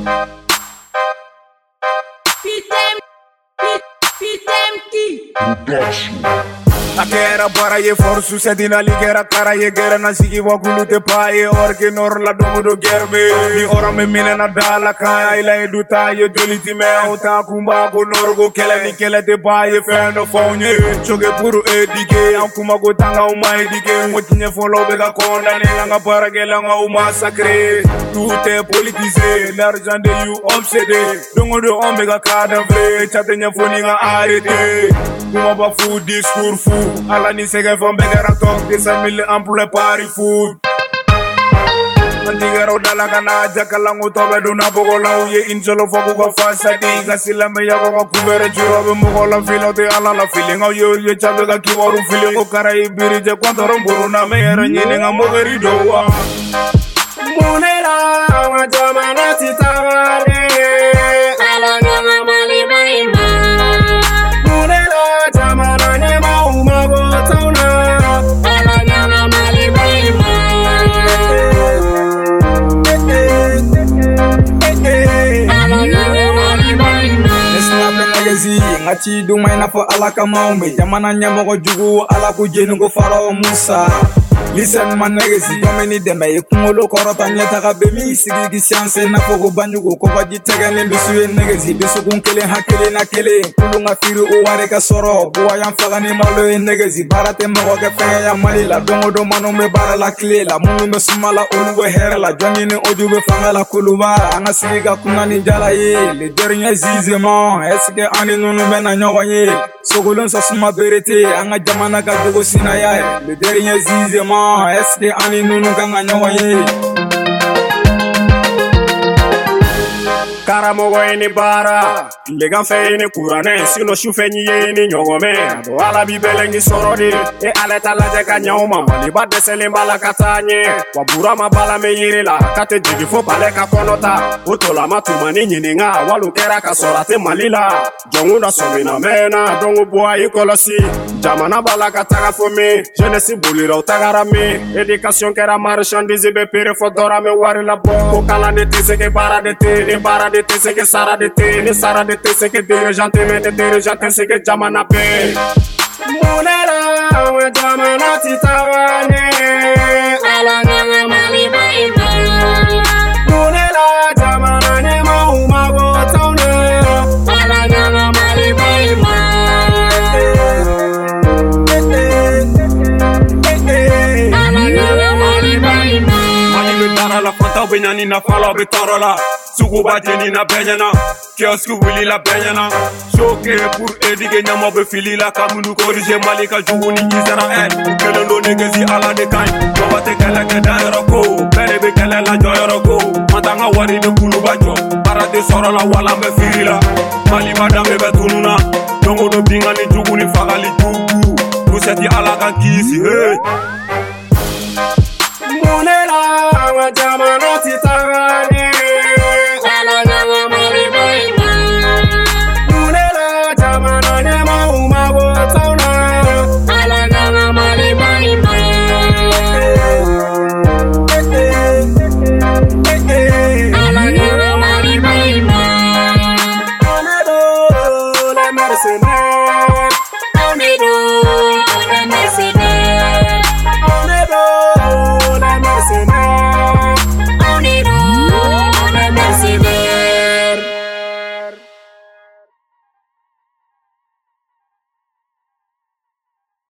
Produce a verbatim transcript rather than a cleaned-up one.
Akera bara ye forsu sedina ligera kara ye gera na sigi wa kulute pa ye orke nor la domo do gerbe ni ora me minena dala ka ila e duta ye doliti me uta kumba ko norgo kele ni kele te pa ye feno fonye choge puru edike an kuma go tanga o mai dike motinye folo be ga konda ne nga para gela nga o massacre tout est politisé l'argent de you obsédé dongo do omega kada vre chatenya foni nga arrêté kuma ba fou discours fou ala ni sege fo mbegera tok de sa mille emploi pari food Antigero dala kana jakala ngotobe duna bogola uye injolo fo ko fasa di gasila me yago ko kubere juro be mogola filo de ala la feeling o yo ye chabe ga kiboru feeling o karai birije kwandoro buruna me era nyine nga mogeri dowa munela wa jamana titawale ala nga mali baima ngati duma ina fo ala kama umbe jamana nyamogo jugu ala ku jenu go faro musa listen man negezi domeni dembe ikungolo korota nyata ka be mi sigi gi science na fo go banjugo ko baji tegane bisu negezi bisu kun kele hakele na kele kulunga firu o ware ka soro buwa yam fagani malo negezi barate mo ga fe ya malila dongo do manu me barala klela munu me sumala olugo herala jongini ojube fangala kuluba anga sigi ga kunani jala ye le dernier jugement est-ce que ani nunu mena nyogoye sogolon sa suma berete anga jamana ga dogo sinaya le dernier jugement est-ce que ani nunu kanga nyogoye Karamogo eni bara Lega fe eni kurane Sino shufenyi eni nyogome Do ala bibelengi sorodi E aleta laje kanyoma Mali bade selimbala katanye Wabura mabala me yirila Kate jigi fo pale kakonota Utola matumani nyininga Walu kera kasorate malila Jongunda somina mena Dongu bua ikolosi Jamana bala kataka fome Jenesi bulira utagara me Education kera marchandise Be pere fodora me wari la bo Kokala nete seke para dete Ne para dete c'est que Sara de té, ne Sara de té, c'est que dirigeant, mais de dirigeant, c'est que Jamana paix. Mounera, ouais, Jamana titavane, ala nga mali baima. Mounera, Jamana ne mauma gotone, ala nga mali baima. Ala nga mali baima. Mali le tara la fanta benyani na fala betara la. Suguba jeni na benyana Kiosque wili la benyana Choke pour édiger nyama be fili la Kamunu corrige malika juuni Israel Ukelendo negezi ala de kain Jobate kele ke daero ko Bere be kele la joyoro ko Matanga wari de kulu bajo Parade soro la wala me fili la Mali madame be tununa Dongo do bingani juguni fagali jugu Luseti ala kan kisi hey